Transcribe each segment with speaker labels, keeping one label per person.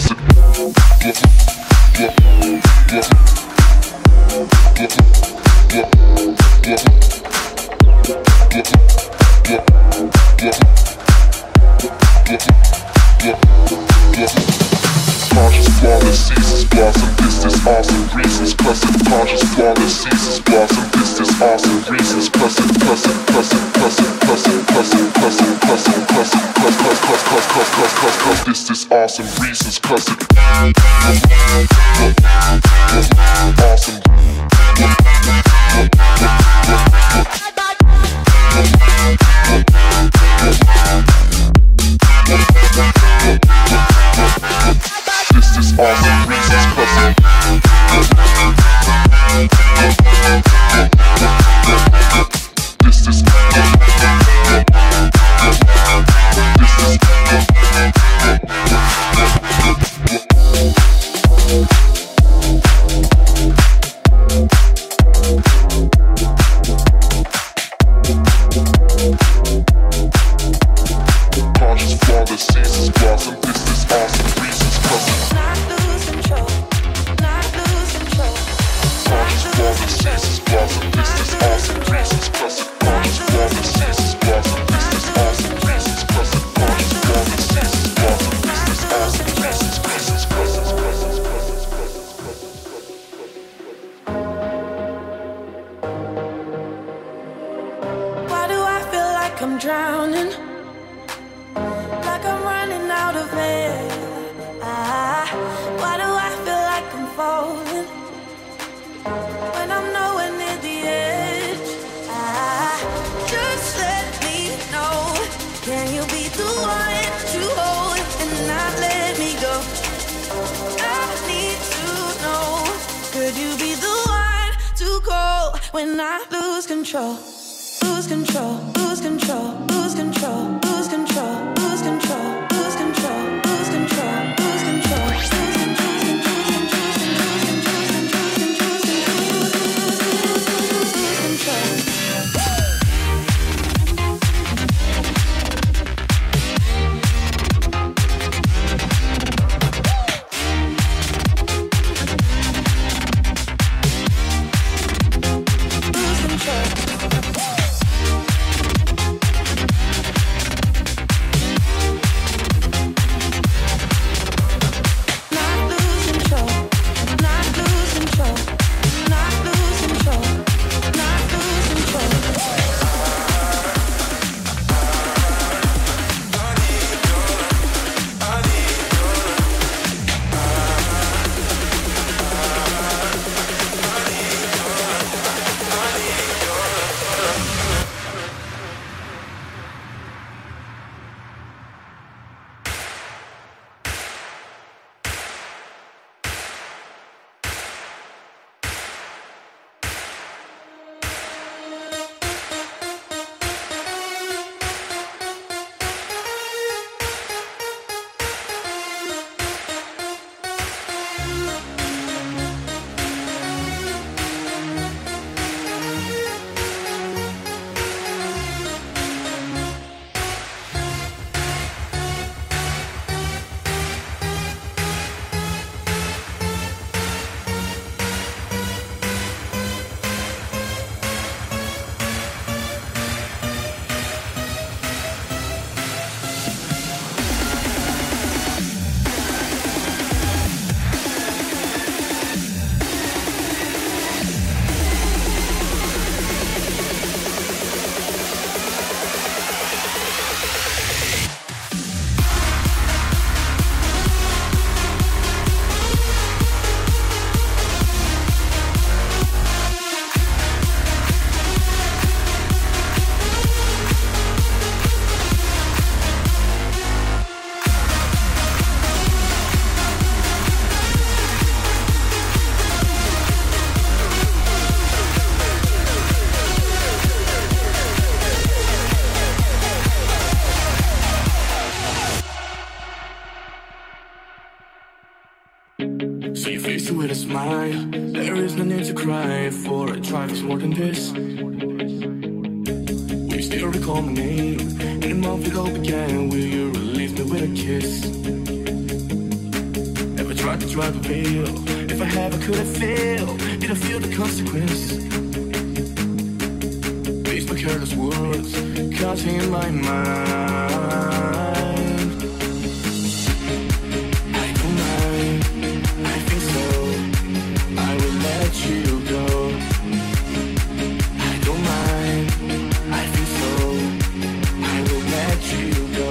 Speaker 1: Conscious flawless seasons blossom, this is awesome reasons, plus it. Conscious flawless seasons blossom, this is awesome reasons, plus it, plus it, plus it, plus it, plus it, plus it, plus it, plus it, plus it, plus this is awesome reasons, plus it. Awesome. This is awesome reasons, plus it. This is conscious flawless seasons blossom. This is awesome reasons, plus it.
Speaker 2: Not lose control, not lose control.
Speaker 1: Conscious flawless seasons blossom. This is awesome reasons, plus it. Conscious flawless seasons blossom. This is awesome reasons, plus it. Conscious flawless seasons blossom. This is awesome reasons, plus it.
Speaker 2: Why do I feel like I'm drowning? Like I'm running out of air. Why do I feel like I'm falling when I'm nowhere near the edge? Just let me know. Can you be the one to hold and not let me go? I need to know. Could you be the one to call when I lose control? Lose control, lose control, lose control, lose control, lose control, lose control, lose control, lose control, lose
Speaker 3: So you face it with a smile. There is no need to cry, for a tribe is more than this. Will you still recall my name? And the month it all began. Will you release me with a kiss? tried to drive a wheel. If I have, I could have failed. Did I feel the consequence? Face my careless words, caught in my mind. I don't mind, I think so. I will let you go. I don't mind, I think so. I will let you go.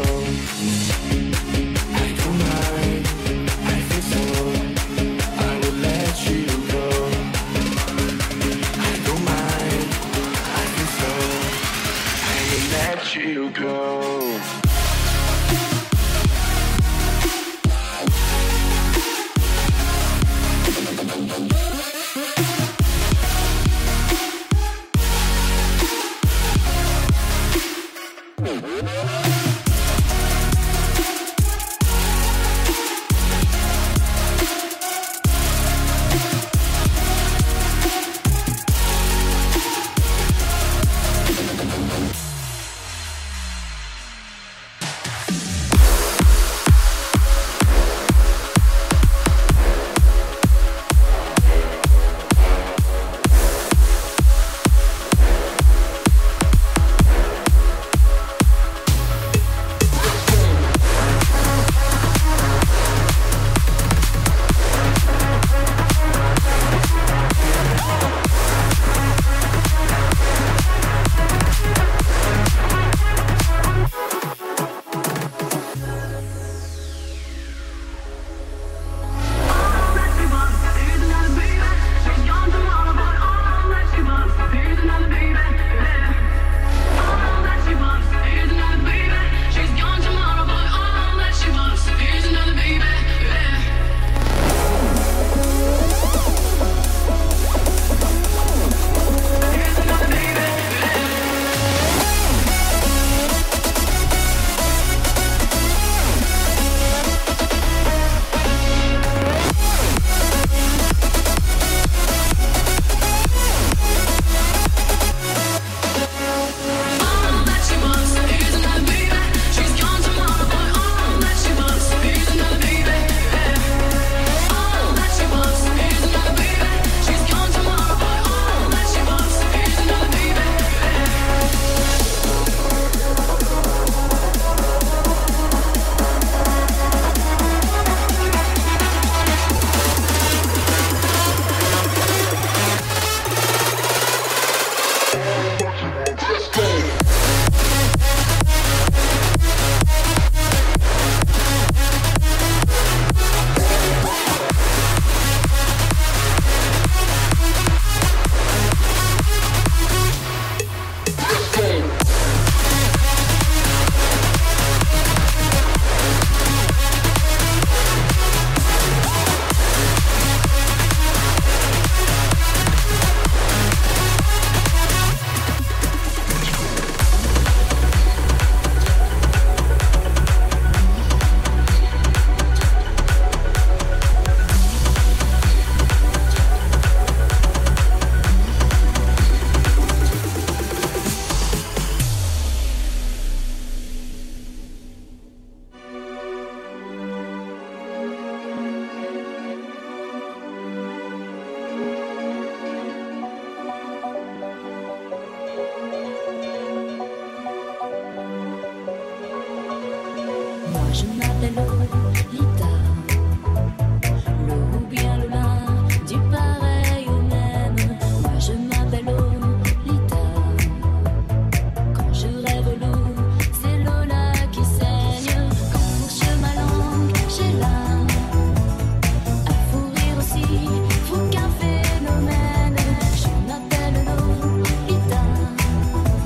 Speaker 3: I don't mind, I think so. I will let you go. I don't mind, I think so. I will let you go.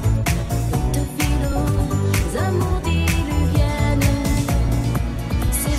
Speaker 4: C'est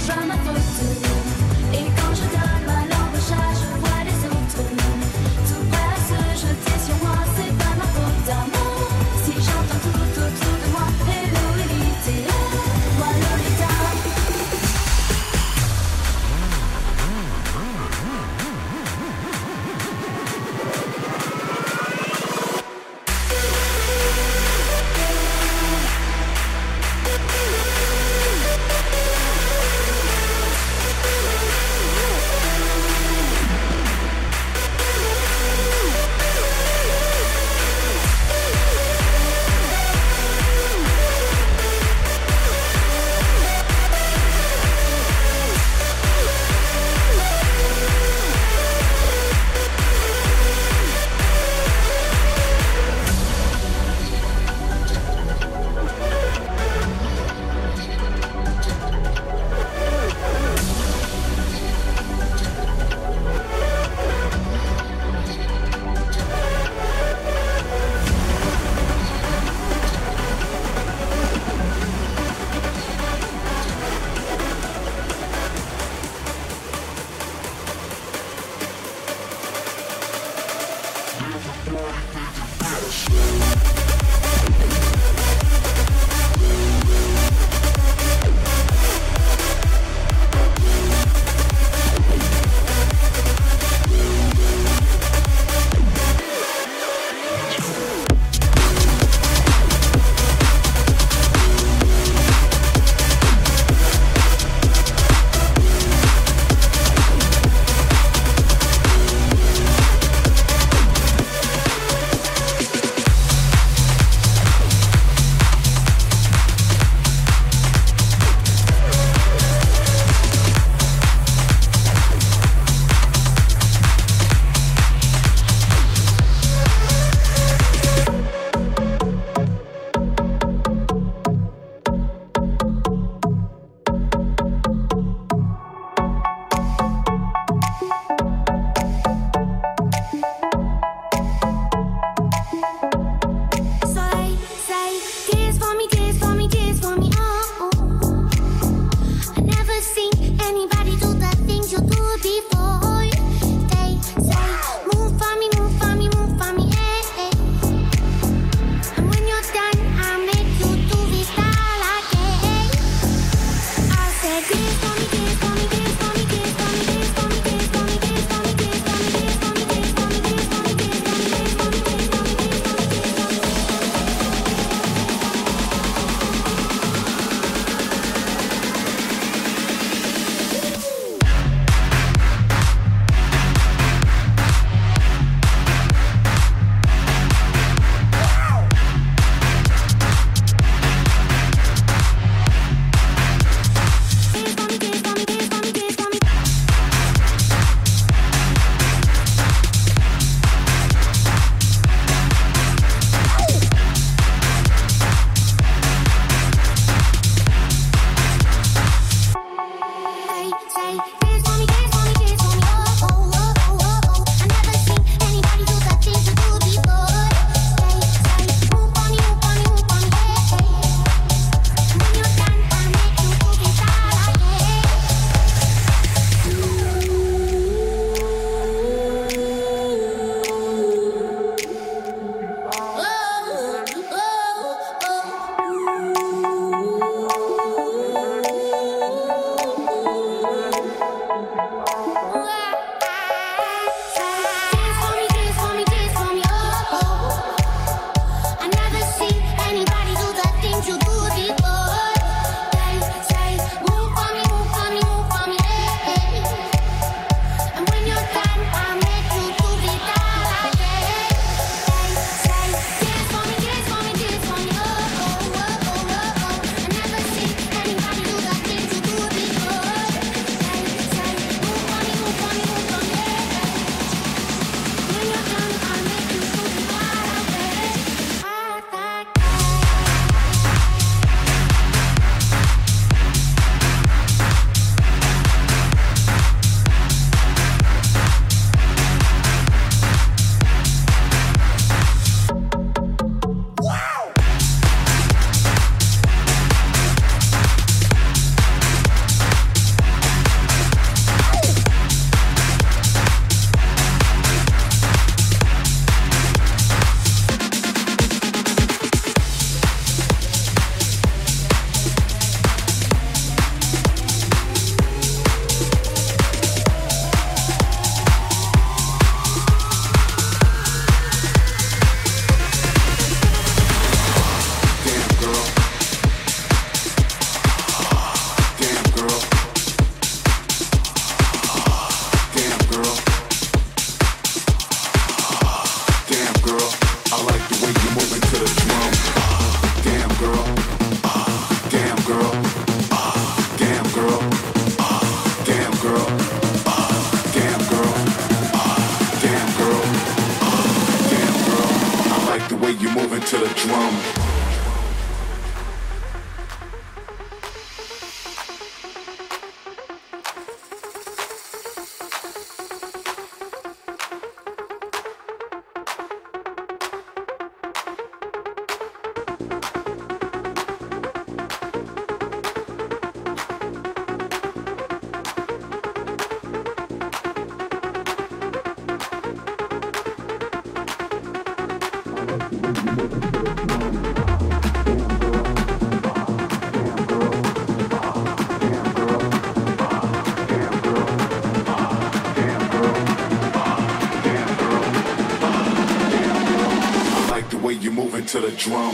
Speaker 3: To the drum.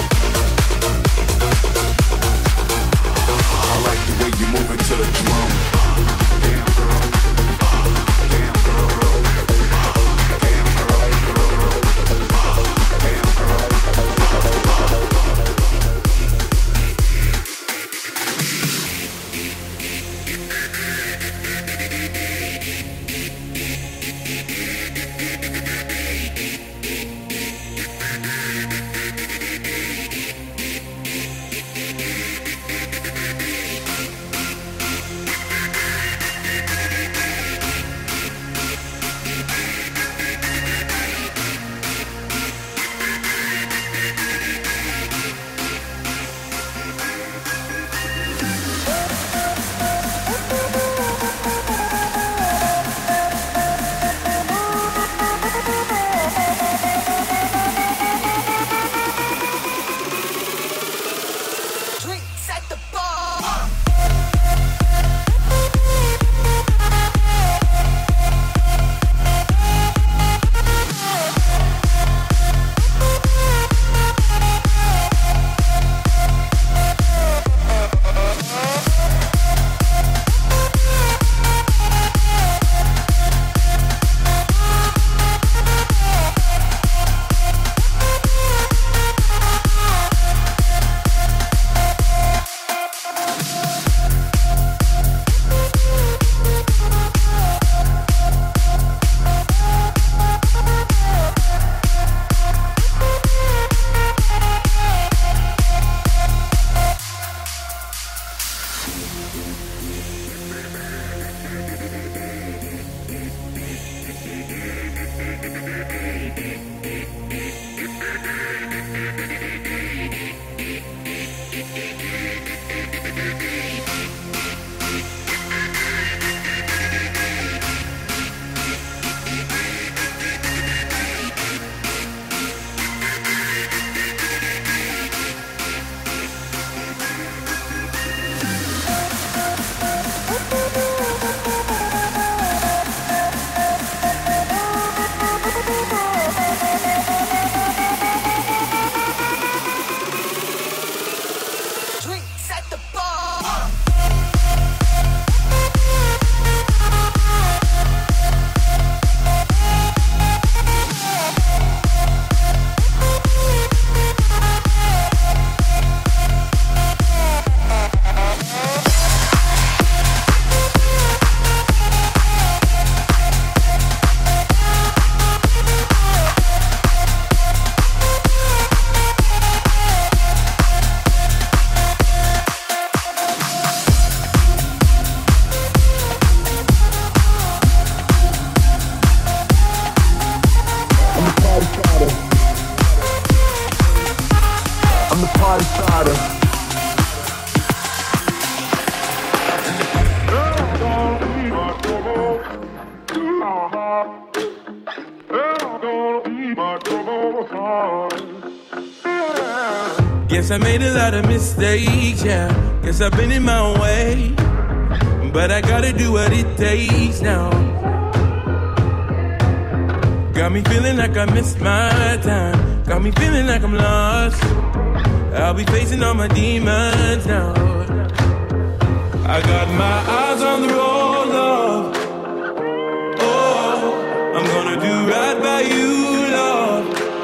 Speaker 3: To the drum. party starter.
Speaker 4: Guess I made a lot of mistakes, yeah. Guess I've been in my own way, but I gotta do what it takes now. Got me feeling like I missed my time. Got me feeling like I'm lost. I'll be facing all my demons now. I got my eyes on the road, love. Oh, I'm gonna do right by you, love.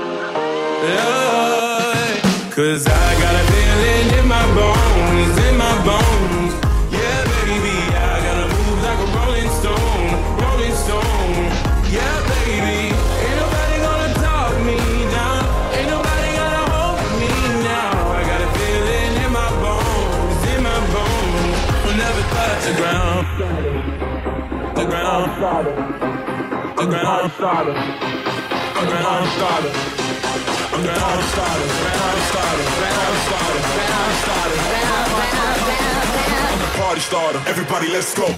Speaker 4: Love. 'Cause I got a feeling in my bones, in my bones. Yeah, baby, I gotta move like a rolling stone, rolling stone. Yeah, baby, ain't nobody gonna talk me down. Ain't nobody gonna hold me now. I got a feeling in my bones, in my bones. We'll never touch the ground. The ground. The ground. The ground. The ground started. I'm the party starter. Everybody, let's go.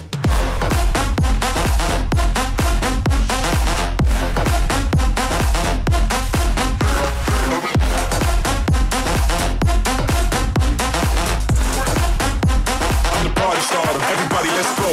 Speaker 4: I'm the party starter. Everybody, let's go.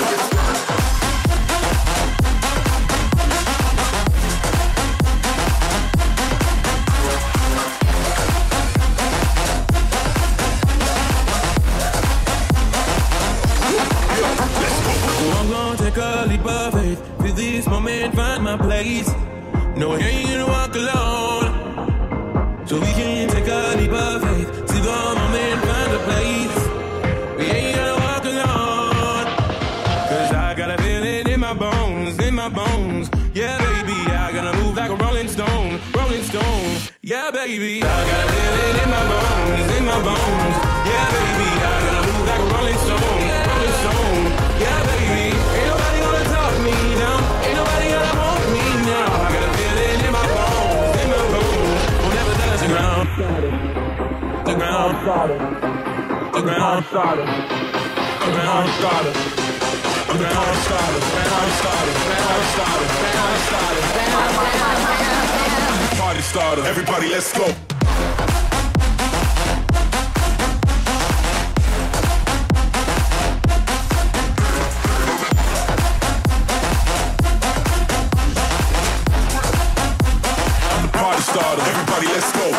Speaker 4: Find my place. No, I ain't gonna walk alone. So we can take a leap of faith. See the moment, find a place. We ain't gonna walk alone. 'Cause I got a feeling in my bones, in my bones. Yeah, baby, I gotta move like a rolling stone, rolling stone. Yeah, baby, I got a feeling in my bones, in my bones. Yeah, baby, I gotta move like a rolling stone, rolling stone. Yeah, baby, ain't nobody gonna talk me down. Ain't nobody gonna hold me now. I got a feeling in my bones, in my bones. We'll never touch the ground. The ground. The ground. The ground. The ground started. The ground started. The ground started. The ground started. The ground started. Party starter. Everybody, let's go. Starter. Everybody, let's go.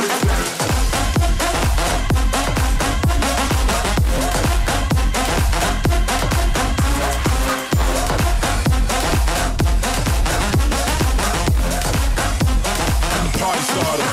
Speaker 4: Party starter.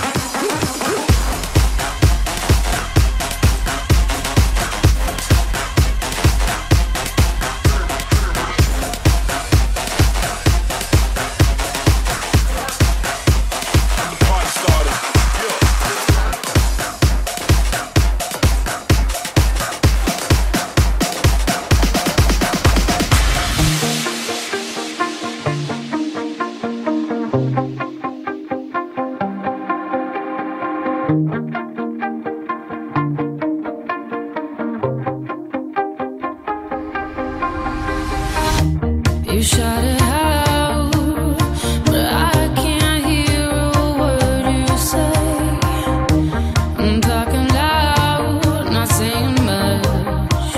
Speaker 2: You shot it out, but I can't hear a word you say. I'm talking loud, not saying much.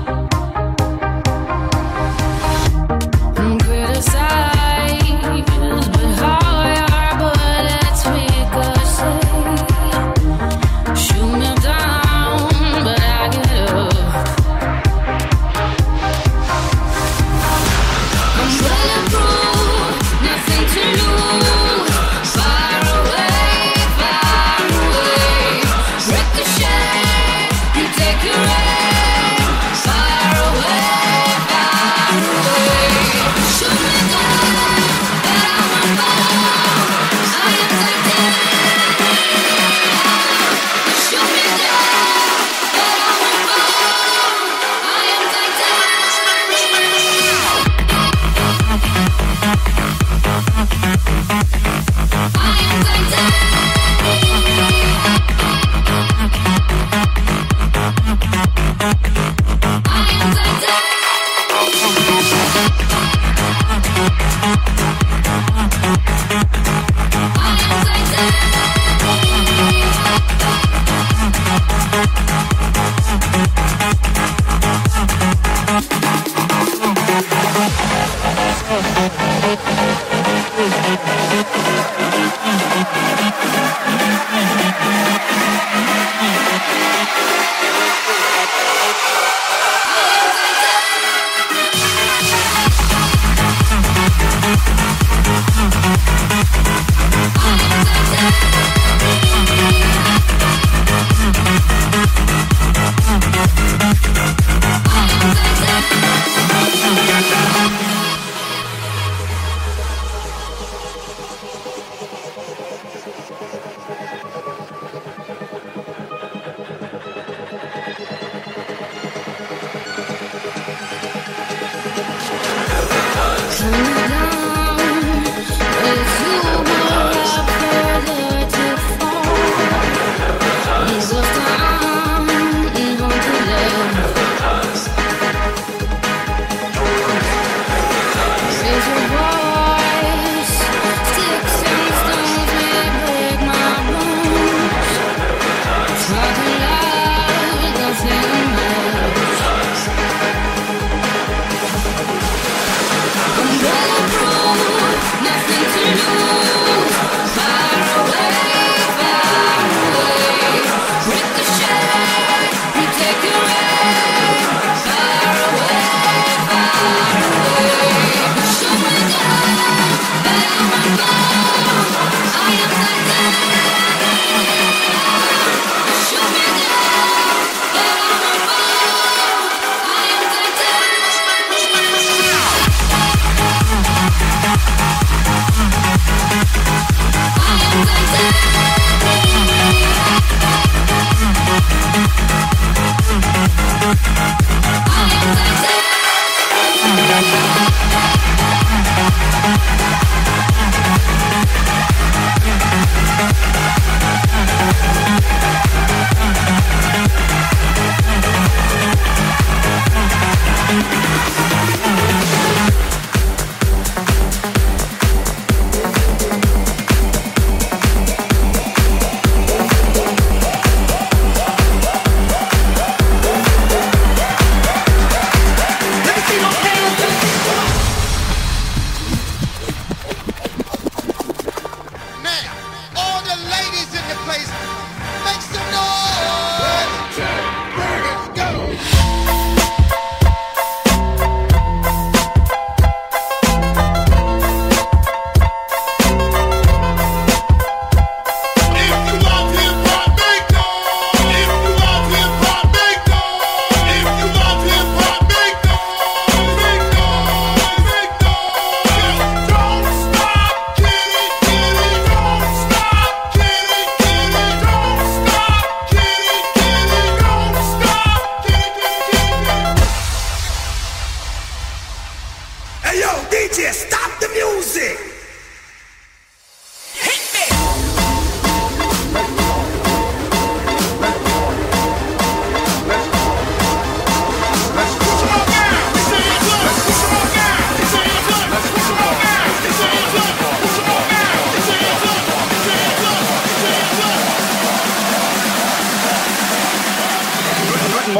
Speaker 2: I'm criticized, but how your bullets ricochet.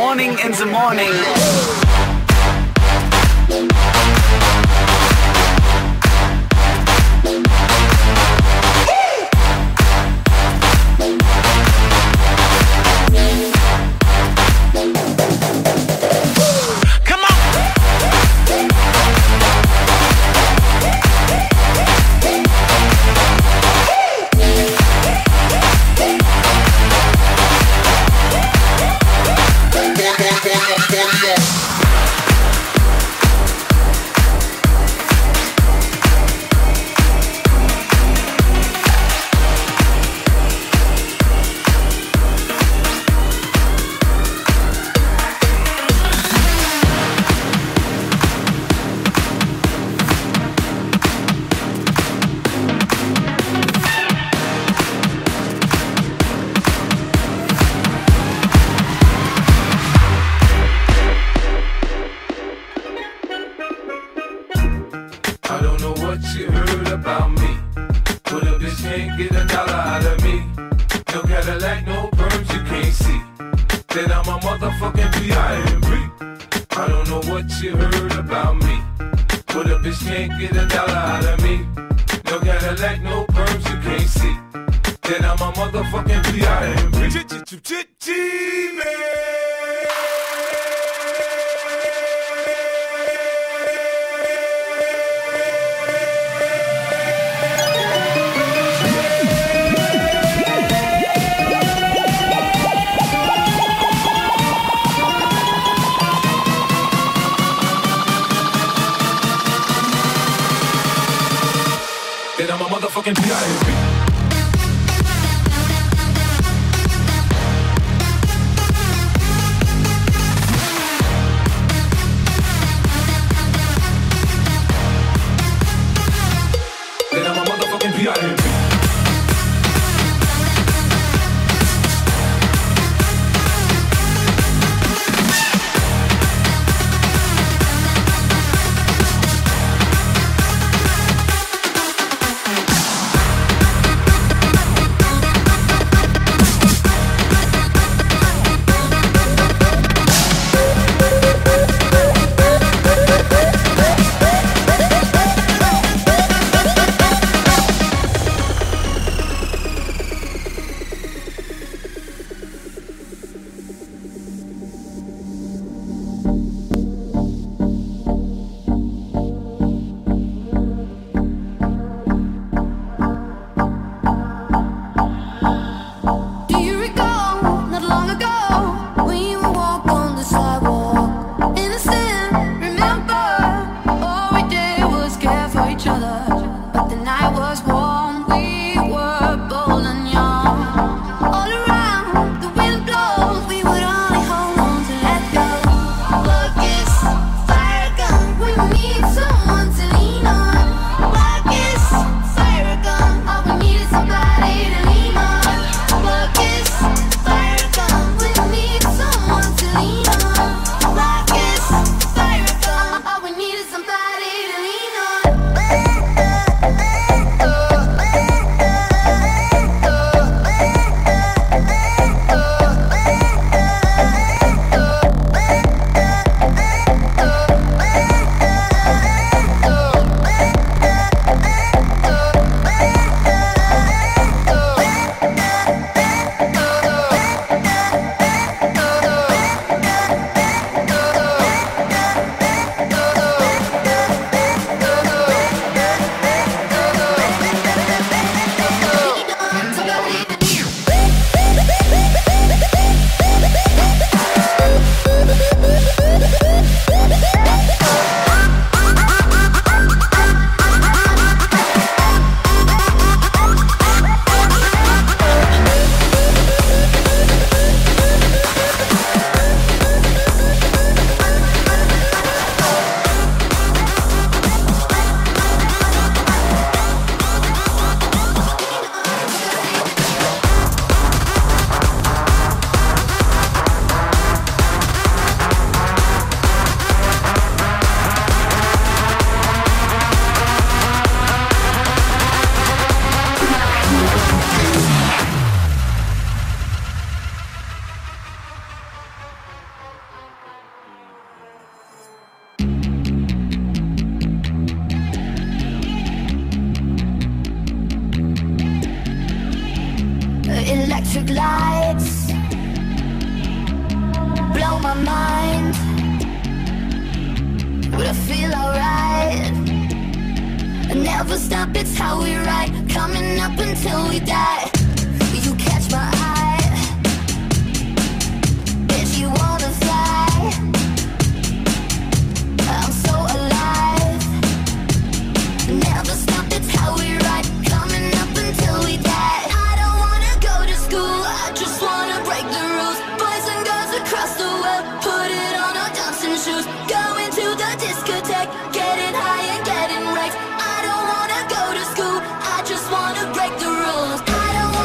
Speaker 5: morning in the morning. electric lights blow my mind, but I feel alright. Never stop, it's how we ride, coming up until we die. You catch my eye, if you wanna fly. I'm so alive. Never stop, it's how we ride, coming up until we die. I don't wanna go to school, I just wanna break the rules. Boys and girls across the world, put it on our dancing shoes. Going to the discotheque, getting high and getting wrecked. I don't wanna go to school, I just wanna break the rules. I don't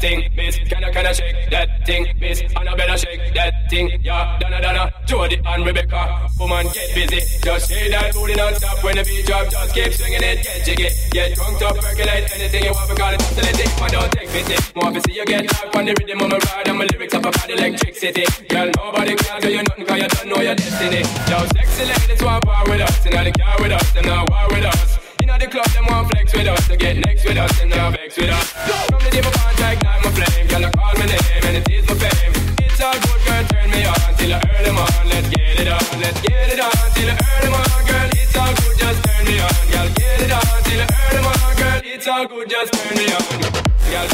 Speaker 4: thing, miss. Can I shake that thing, miss? Annabella shake that thing, yeah. Donna, Jody and Rebecca. Woman, get busy. Just shake that booty non-stop when the beat drop. Just keep swinging it, get jiggy. Get drunk to percolate anything you want, because it's oscillating. Man, don't take pity. More to see you get live on the rhythm of my ride, and my lyrics up about electricity. Girl, nobody can do you nothing, cause you don't know your destiny. Yo, sexy ladies want war with us, and all the car with us, them not war with us. Inna the club, them want flex with us, to get next with us, and now vex with us. From the day my contact, ignite my flame, girl, I call my name, and it is my fame. It's all good, girl, turn me on, till I earn them on. Let's get it on, let's get it on, till I earn them on, girl. It's all good, just turn me on, girl. Get it on, till I earn them on, girl. It's all good, just turn me on, girl.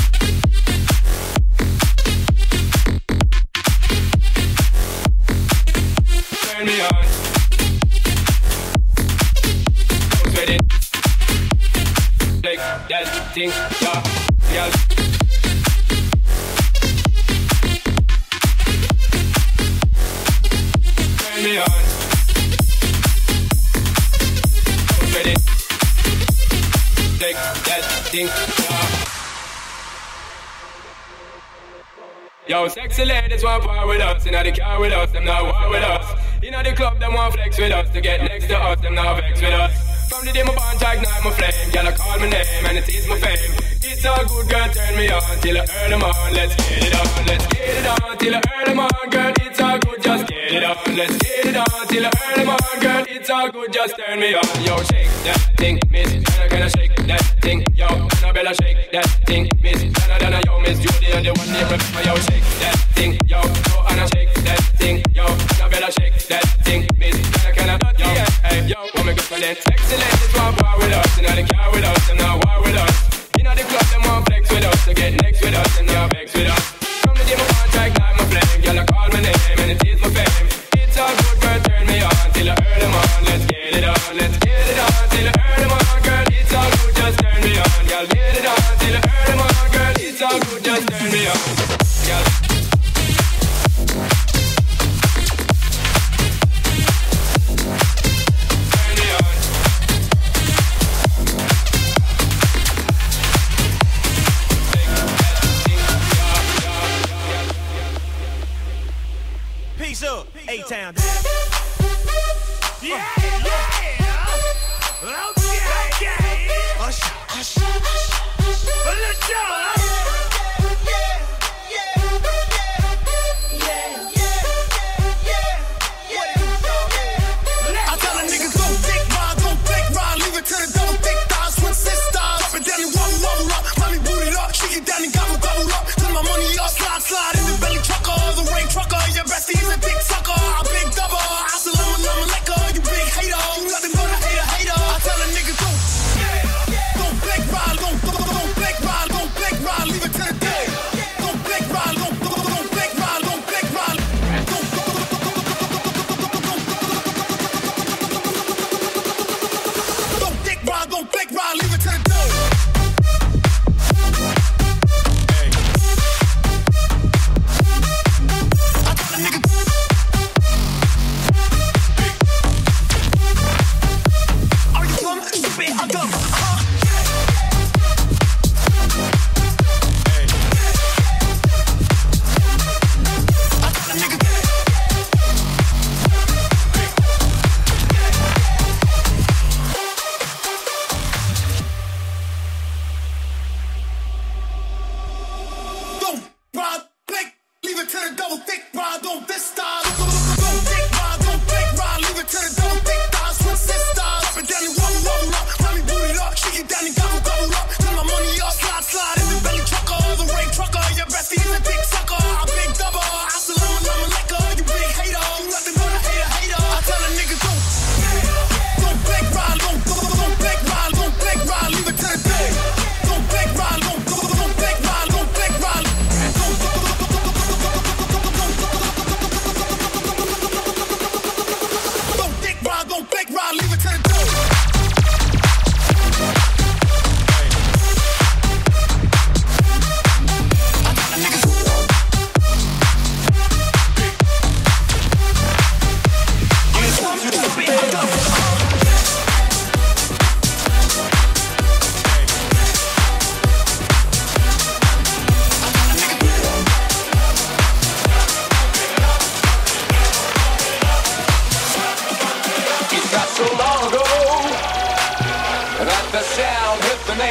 Speaker 4: Turn me on. Go with it. Like that thing, yeah, yeah. Turn me on. Go with it. Like that thing, yeah. Yo, sexy ladies want power with us, inna the car with us, them not war with us. Inna the club, them want flex with us, to get next to us, them not vex with us. From the day my bond to ignite my flame, girl, I call my name, and it is my fame. It's all good, girl, turn me on, till I earn them on. Let's get it on, let's get it on, till I earn them on, girl. It's all good, just get it on, let's get it on, till I earn them on, girl. It's all good, just turn me on. Yo, shake that thing, miss, can I shake that thing? Yo, Annabella, shake that thing, miss, Donna, yo, Miss Judy, and the one name, yo, shake that thing, yo, Anna, shake that thing, yo, Annabella, shake that thing, miss, can I, yo, hey, yo, want me go for that? Sexy ladies want war with us, inna the car with us, and now war with us. Inna the club, them want flex with us, to get next with us, and now vex with us. From the day my contract, ignite my flame, girl, I call my name, and it is my fame. It's all good, girl, turn me on, till I earn them on. Let's get it on, let's get it on, till I earn them on, girl. It's all good, just turn me on, girl. Get it on, till I earn them on, girl. It's all good, just turn me on, girl.
Speaker 6: A-Town. Yeah, yeah. Okay. Hush, hush, hush. Let's go. Slide in the belly trucker, the rain trucker, your bestie is a dick sucker, a big double, I still love my liquor, you big hater, you nothing but a hater, I tell a nigga don't black ride, don't black ride, don't black ride, leave it to the day, don't black ride, don't black ride, don't black ride, don't dick ride, don't black ride, leave it to the day.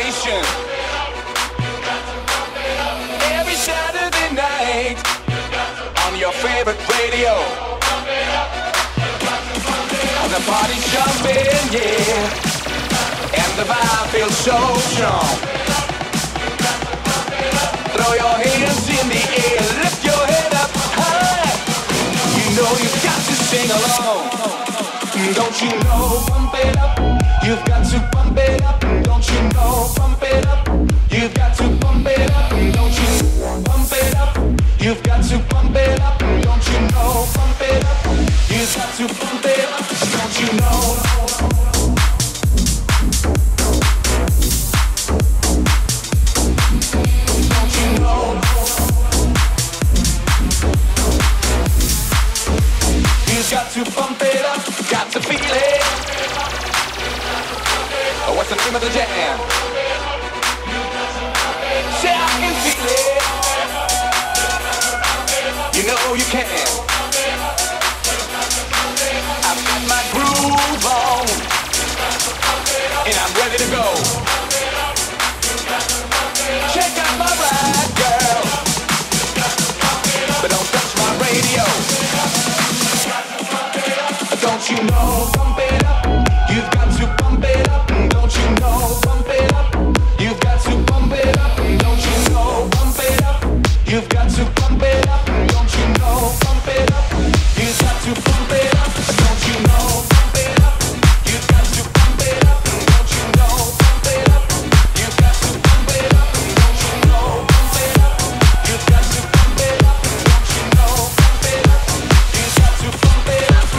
Speaker 7: station. Every Saturday night on your favorite radio. And the party's jumping, yeah, and the vibe feels so strong. Throw your hands in the air, lift your head up high. You know you've got to sing along. Don't you know, pump it up. You've got to pump it up. Don't you know, pump it up. You've got to pump it up. Don't you pump it up. You've got to pump it up. Don't you know, pump it up. You've got to pump it up. Don't you know? Got to pump it up, got to feel it. What's the name of the jam? Say I can feel it. You know you can. I've got my groove on, and I'm ready to go. Check out my ride, girl, but don't touch my radio. Don't you know, pump it up. You've got to pump it up. Don't you know, pump it up. You've got to pump it up. Don't you know, pump it up. You've got to pump it up. Don't you know, pump it up. You've got to pump it up. Don't you know, pump it up. You've got to pump it up. Don't you know, pump it up. You've got to pump it up. Don't you know, pump it up. You've got to pump it up. Don't you know, pump it up. You've got to pump it up.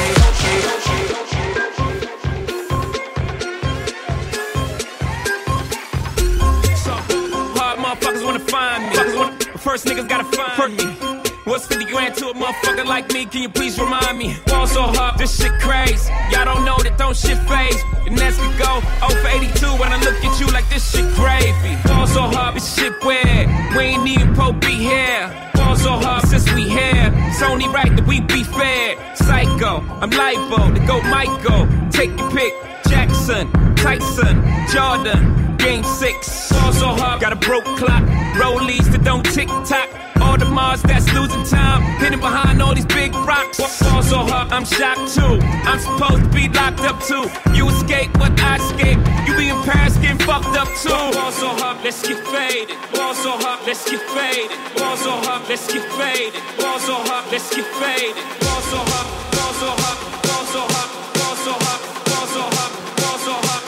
Speaker 4: Motherfuckers wanna find me. First niggas gotta find me. What's 50 grand to a motherfucker like me? Can you please remind me? Ball so hard, this shit crazy. Y'all don't know that don't shit phase. And as we go 0 for 82 when I look at you like this shit gravy. Ball so hard, this shit weird. We ain't even Pope be here. Ball so hard since we here. It's only right that we be fair. Psycho, I'm libo to go Michael. Take your pick. Jackson, Tyson, Jordan. Game 6, ball so hard, got a broke clock. Rollies that don't tick-tock. All the Mars that's losing time, hidden behind all these big rocks. Ball so hard, I'm shocked too. I'm supposed to be locked up too. You escape, but I escape. You be in Paris getting fucked up too. Ball so hard, let's get faded. Ball so hard, let's get faded. Ball so hard, let's get faded. Ball so hard, let's get faded. Ball so hard, ball so hard, ball so hard, ball so hard, ball so hard, ball so hard.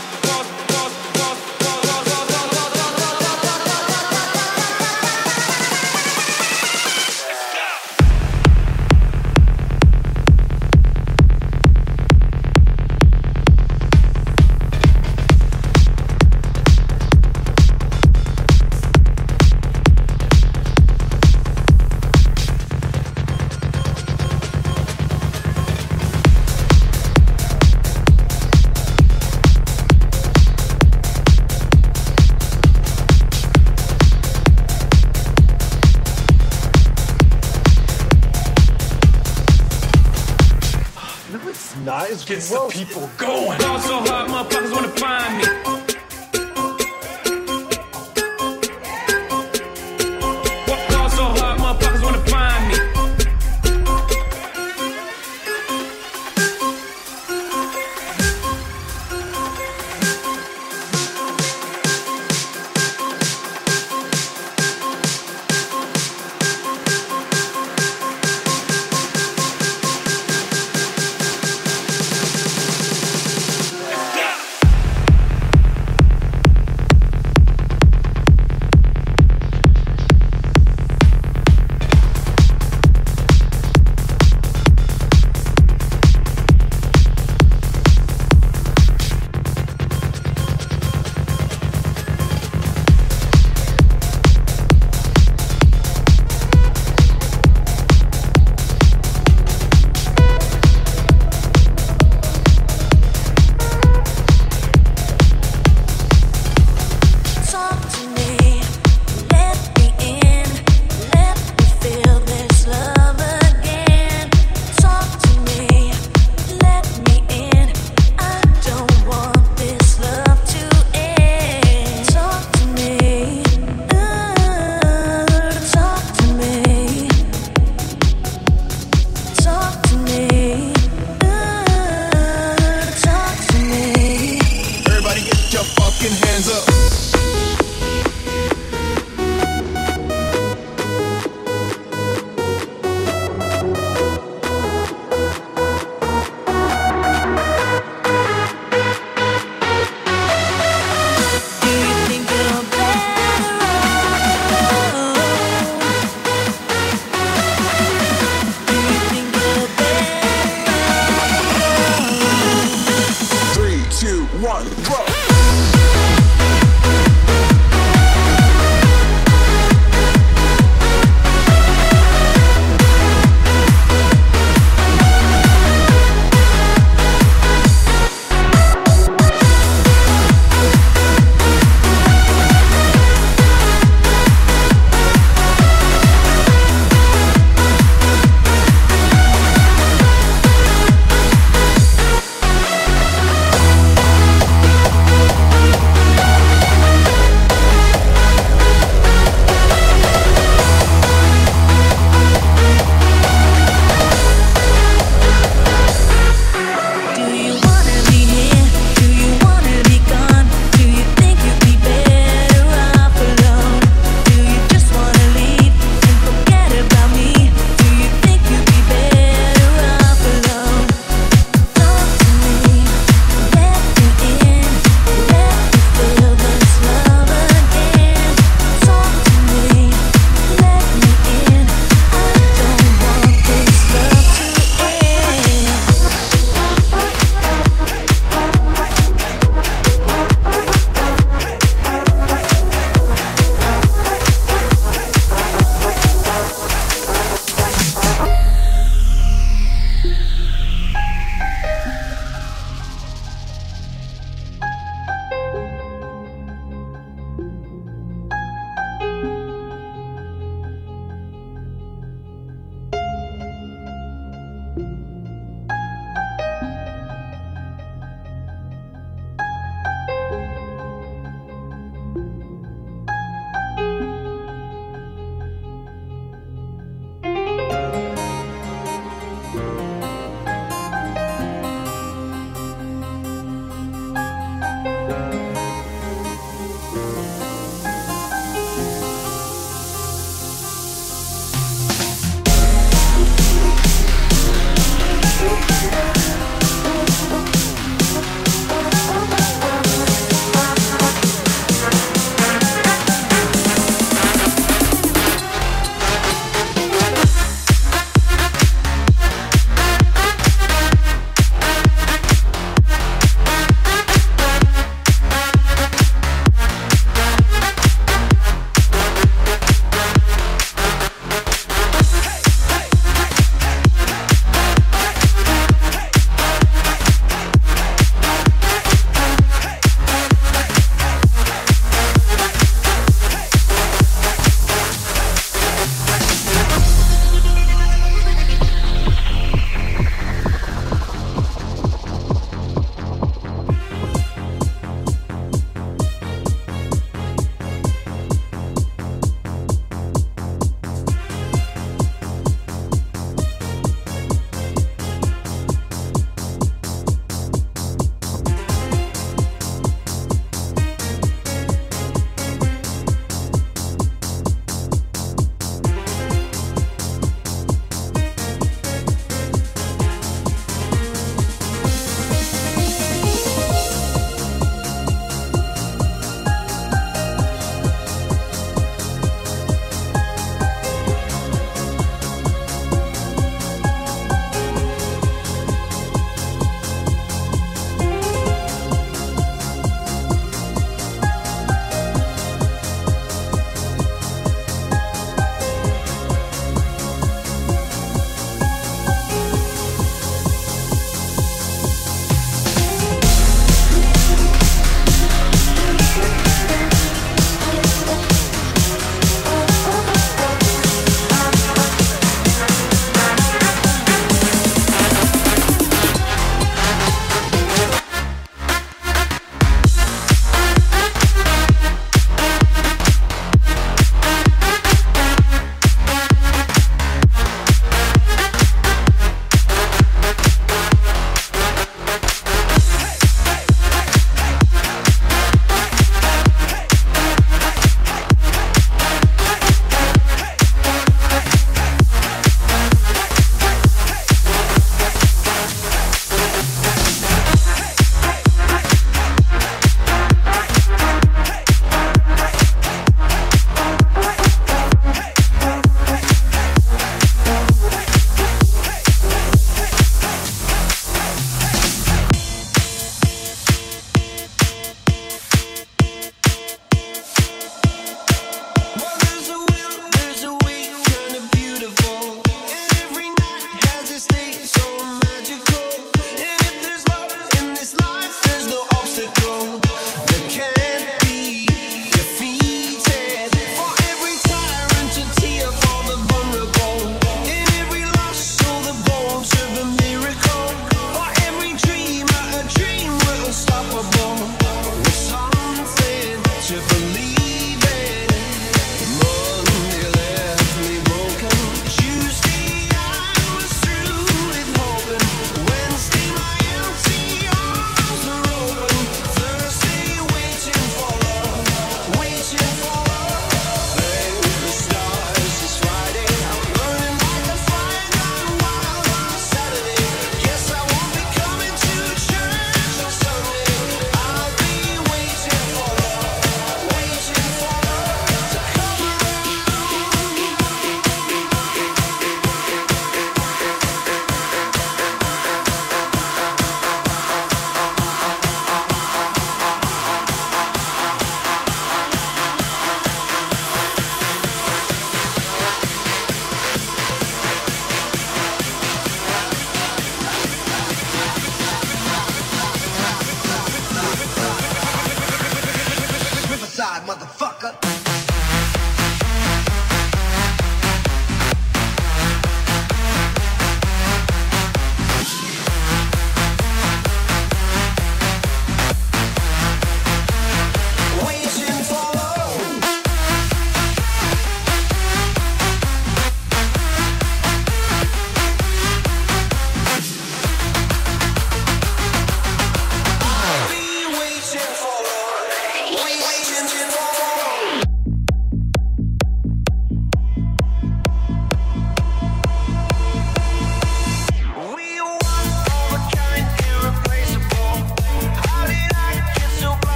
Speaker 6: Nice, gets the people going.
Speaker 4: Ball so hard, motherfuckers wanna find me. Ball so hard, motherfuckers wanna find me.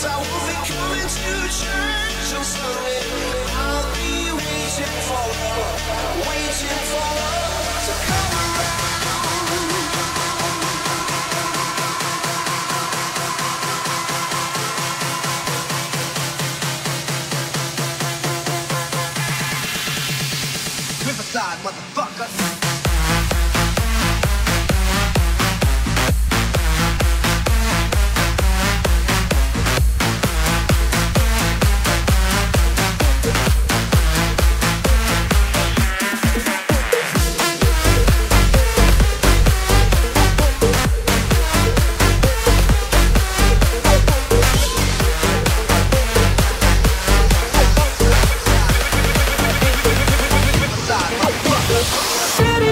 Speaker 6: I will be coming to church on Sunday. I'll be waiting for love to come around. Riverside, motherfucker.
Speaker 2: Said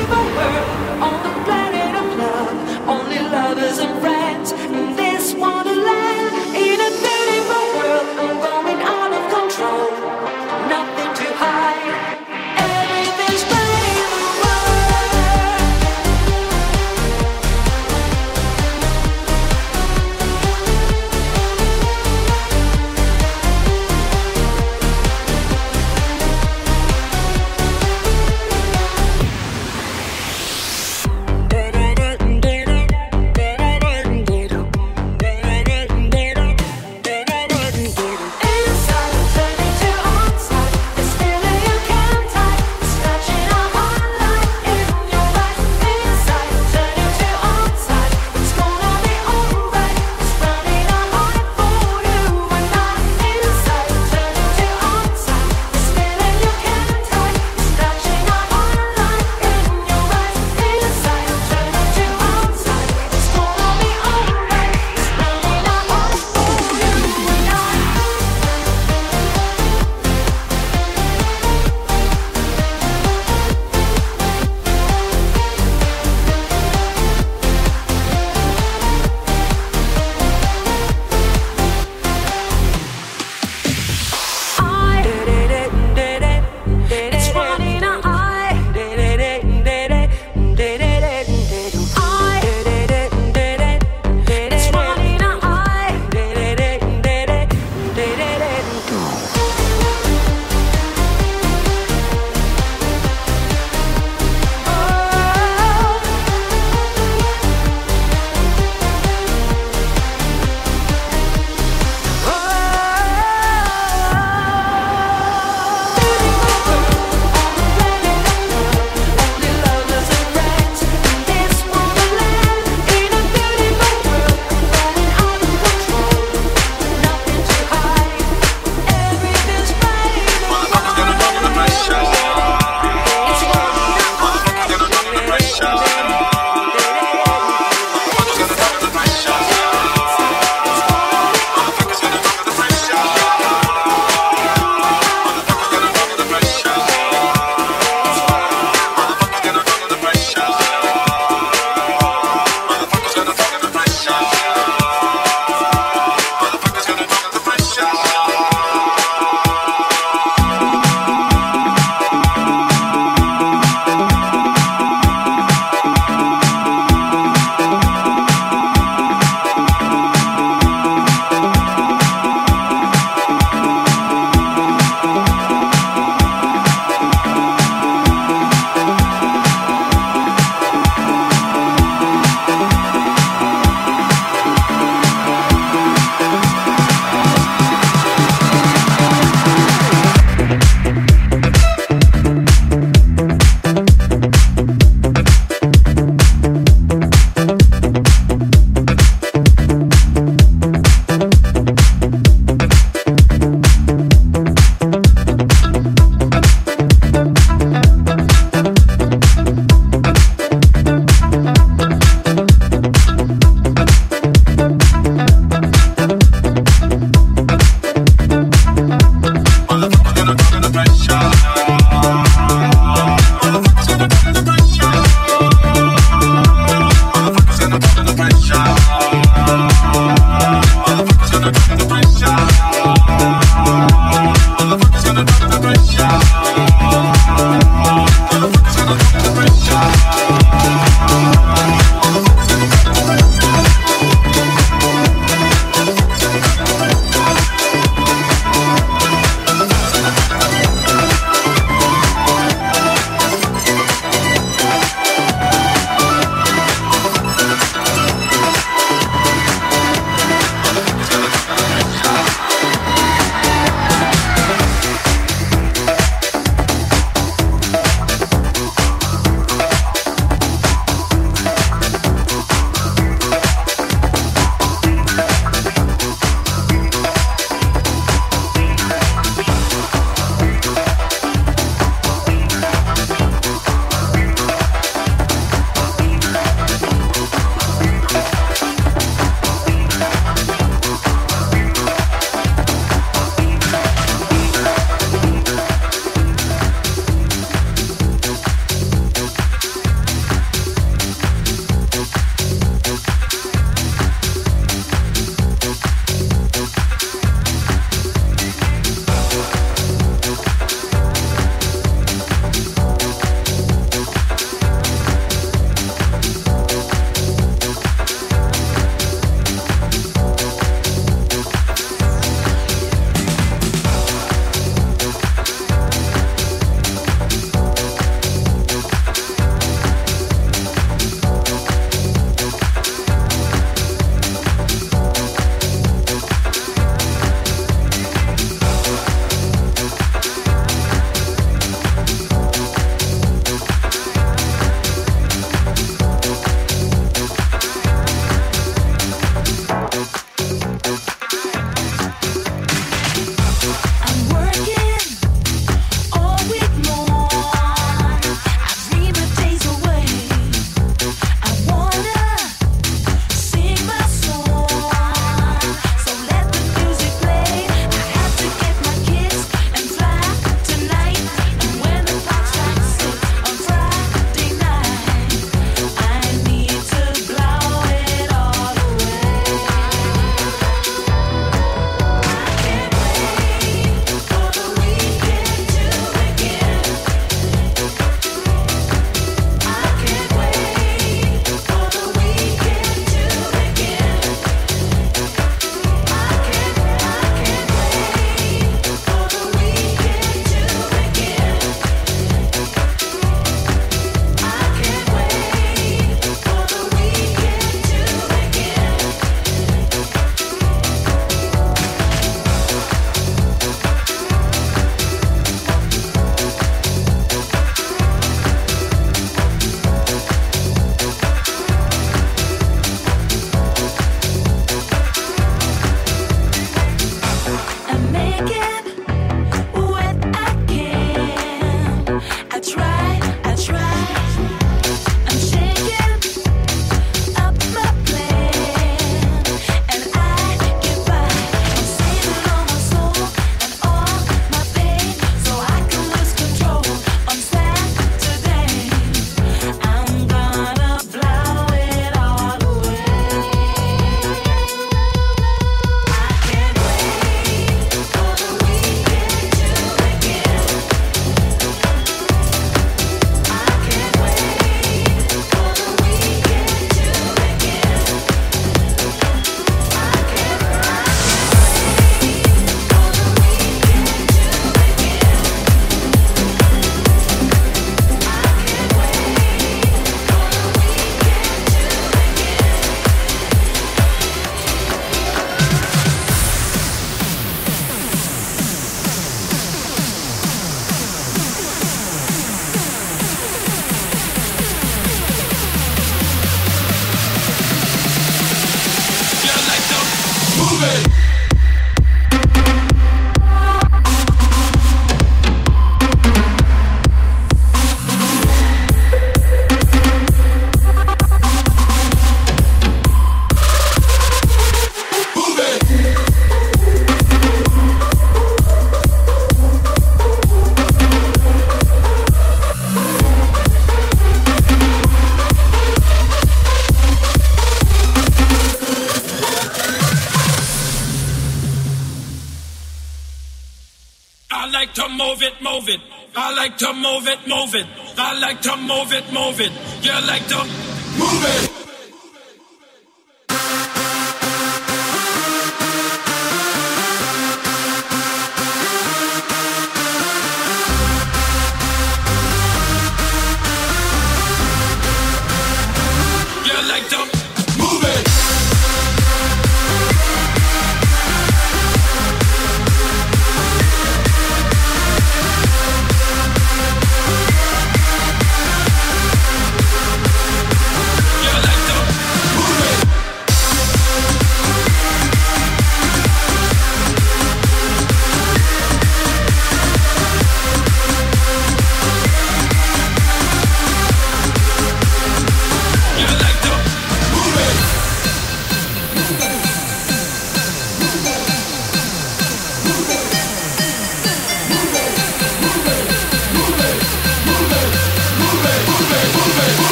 Speaker 4: move it. I like to move it, move it. I like to move it, move it. You like to move it.